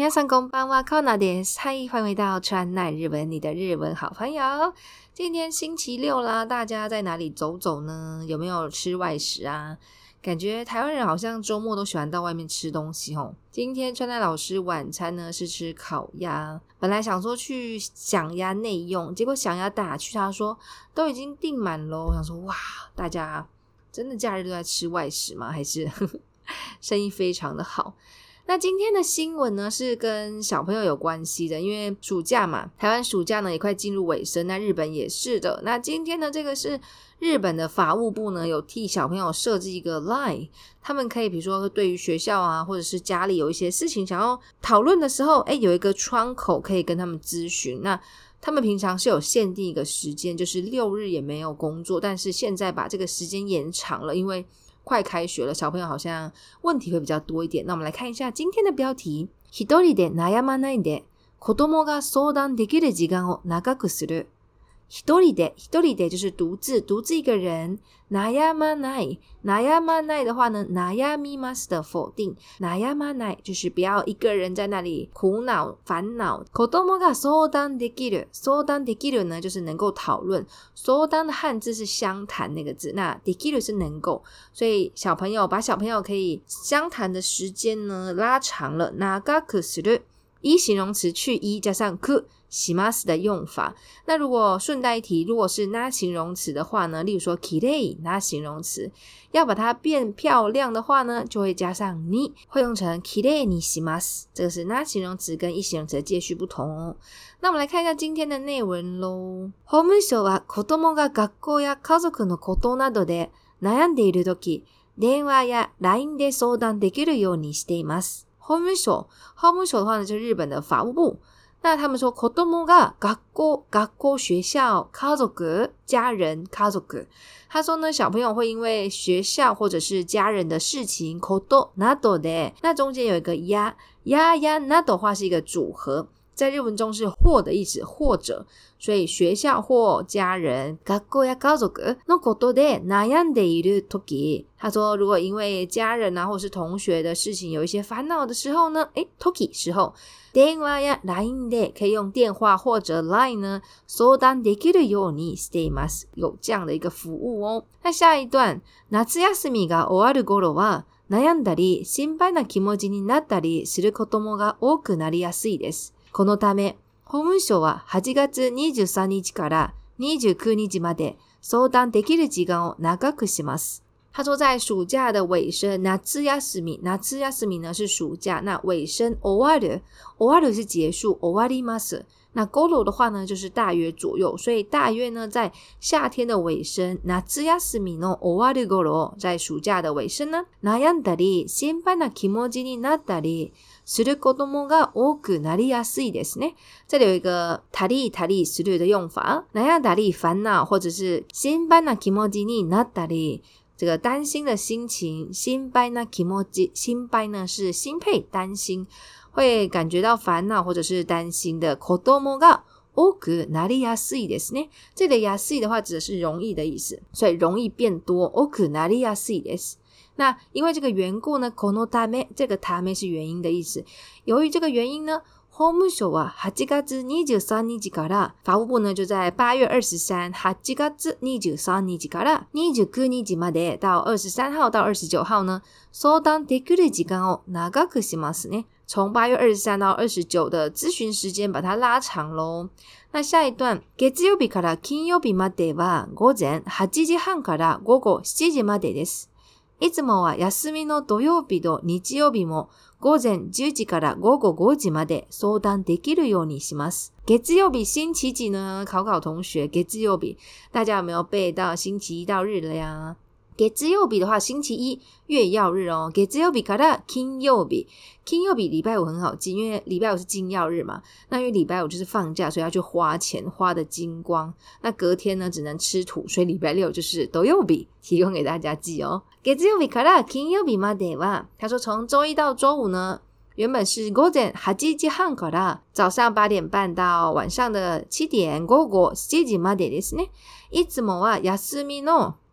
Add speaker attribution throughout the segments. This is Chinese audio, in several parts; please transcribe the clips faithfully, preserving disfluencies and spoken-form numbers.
Speaker 1: 皆さんこんばんは，Konaです。嗨，歡迎回到川奈日文，你的日文好朋友。今天星期六啦，大家在哪裡走走呢？有沒有吃外食啊？感覺台灣人好像周末都喜歡到外面吃東西齁。今天川奈老師晚餐呢是吃烤鴨，本來想說去享鴨內用，結果享鴨打去他說都已經訂滿了。我想說哇，大家真的假日都在吃外食嗎？還是呵呵生意非常的好？那今天的新聞呢是跟小朋友有關係的，因為暑假嘛，台灣暑假呢也快進入尾聲，那日本也是的。那今天呢這個是日本的法務部呢有替小朋友設置一個 Line， 他們可以比如說對於學校啊或者是家裡有一些事情想要討論的時候，誒有一個窗口可以跟他們諮詢。那他們平常是有限定一個時間，就是六日也沒有工作，但是現在把這個時間延長了，因為快開學了，小朋友好像問題會比較多一點。那我們來看一下今天的標題：一人で悩まないで子供が相談できる時間を長くする。一人で、一人で就是獨自，獨自一個人。悩まない、悩まない的話呢，悩みます的否定，悩まない就是不要一個人在那裡苦惱煩惱。子供が相談できる、相談できる呢就是能夠討論，相談的漢字是相談那個字，那できる是能夠，所以小朋友把小朋友可以相談的時間呢拉長了。長くする，一形容詞去一加上くします的用法。那如果順帶一提，如果是那形容詞的話呢，例如說きれい那形容詞要把它變漂亮的話呢，就會加上に，會用成きれいにします。這個是那形容詞跟一形容詞的介序不同哦。那我們來看一下今天的內文咯。法務省は子供が學校や家族のことなどで悩んでいるとき、電話や ライン で相談できるようにしています。法務省，法務省的話呢，就是日本的法務部。那他們說子供が學校、學校學校、家族家人、家族。他說呢，小朋友會因為學校或者是家人的事情，ことなどで，那中間有一個や、ややなど話是一個組合，在日文中是或的意思，或者，所以學校或家人、學校や家族のことで悩んでいるとき，他說如果因為家人啊或是同學的事情有一些煩惱的時候呢，誒，とき時候。電話や ライン で可以用電話或者 ライン 呢相談できるようにしています。有這樣的一個服務哦。那下一段、夏休みが終わる頃は悩んだり心配な気持ちになったりする子供が多くなりやすいです。このため、法務省ははちがつにじゅうさんにちからにじゅうくにちまで相談できる時間を長くします。他說在暑假的尾聲，夏休み，夏休み呢是暑假，那尾聲終わる，終わる是結束，終わります。那頃的話呢就是大約左右，所以大約呢在夏天的尾聲，夏休みの終わる頃，在暑假的尾聲呢，悩んだり心配な気持ちになったりする子供が多くなりやすいですね。這裡有一個たりたりする的用法，悩んだり煩惱或者是心配な気持ちになったり。這個擔心的心情，心配な気持ち，心配呢是心配擔心，會感覺到煩惱或者是擔心的。子供が多くなりやすいですね。這裡やすい的話指的是容易的意思，所以容易變多。多くなりやすいです。那因為這個緣故呢，このため，這個ため是原因的意思。由於這個原因呢，法務省ははちがつにじゅうさんにちから法務部呢就在八月二十三，はちがつにじゅうさんにちからにじゅうくにちまで到二十三號到二十九號呢，相談できる時間を長くしますね。從八月二十三到二十九的諮詢時間把它拉長嘍。那下一段、月曜日から金曜日までは午前はちじはんから午後しちじまでです。いつもは休みの土曜日と日曜日も午前じゅうじから午後ごじまで相談できるようにします。月曜日星期幾呢？考考同學，月曜日大家有沒有背到星期一到日了呀？月曜日的話，星期一月曜日哦。月曜日から金曜日，金曜日禮拜五很好記，因為禮拜五是金曜日嘛。那因為禮拜五就是放假，所以要去花錢，花的精光。那隔天呢，只能吃土，所以禮拜六就是土曜日，提供給大家記哦。月曜日から金曜日までは，他說從週一到週五呢，原本是午前はちじはんから早上八點半到晚上的七點，午後しちじまでですね。いつもは休みの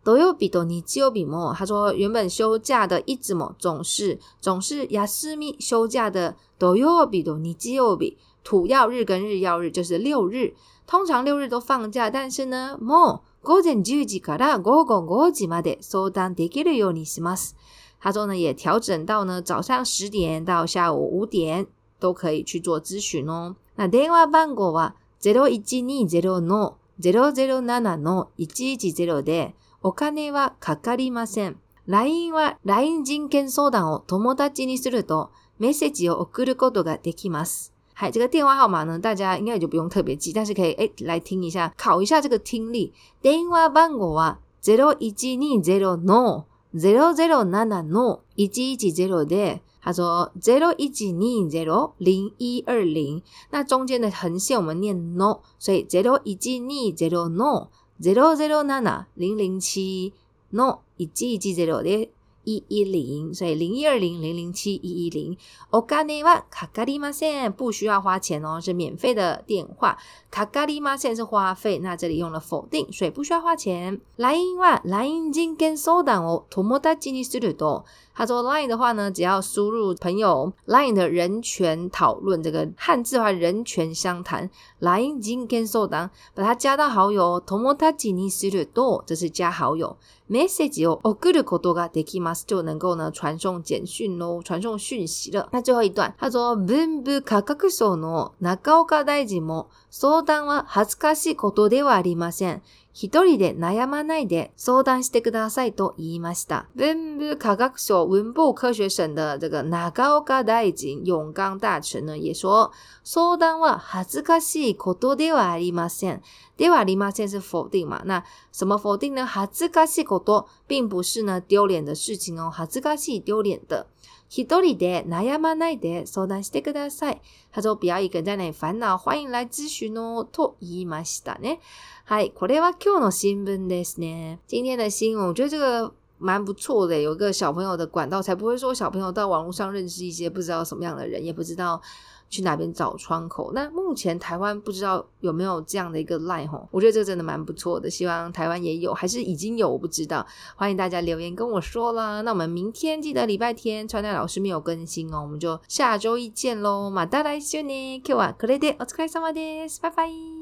Speaker 1: 土曜日と日曜日も，他說原本休假的いつも總是總是休み休假的土曜日と日曜日，土曜日跟日曜日就是六日，通常六日都放假，但是呢，もう午前十時から午後五時まで相談できるようにします。他說呢，也調整到呢早上十點到下午五點都可以去做諮詢哦。那電話番號はゼロいちにゼロのゼロゼロななのいちいちゼロで、お金はかかりません。ライン は ライン 人権相談を友達にするとメッセージを送ることができます。嗨，這個電話號碼呢，大家應該也就不用特別記，但是可以誒來聽一下，考一下這個聽力。電話番號はゼロいちにゼロのゼロゼロななのいちいちゼロで、他說ゼロいちにゼロ零一二零，那中間的橫線我們念 no， 所以ゼロいちにゼロのゼロゼロなな零零七のいちいちゼロで一一零，所以零一二零零零七一一零。お金はかかりません，不需要花錢哦，是免費的電話。かかりません是花費，那這裡用了否定，所以不需要花錢。ライン は ライン 人権相談を友達にすると。他說 Line 的話呢，只要輸入朋友 Line 的人權討論，這個漢字的話人權相談 Line 人權相談，把它加到好友友達にすると，這是加好友。メッセージを送ることができます，就能夠呢傳送簡訊咯，傳送訊息了。那最後一段，他說文部科學省の中岡大臣も相談は恥ずかしいことではありません。一人で悩まないで相談してくださいと言いました。文部科學省文部科學省的這個中岡大臣永岡大臣呢也說，相談は恥ずかしいことではありません。ではありません是否定嘛？那什麼否定呢？恥ずかしいこと並不是呢丟臉的事情哦，恥ずかしい丟臉的。一人で悩まないで相談してください。他說不要一個人在那裡煩惱，歡迎來諮詢哦。と言いましたね。はい、これは今日の新聞ですね。今天的新聞，我覺得這個蠻不錯的，有一個小朋友的管道，才不會說小朋友到網絡上認識一些不知道什麼樣的人，也不知道去哪邊找窗口。那目前台灣不知道有沒有這樣的一個 line 齁，我覺得這個真的蠻不錯的，希望台灣也有，還是已經有，我不知道。歡迎大家留言跟我說啦。那我們明天記得禮拜天川奈老師沒有更新哦，我們就下周一見咯。また來週ね。今日はこれでお疲れ様です。拜拜。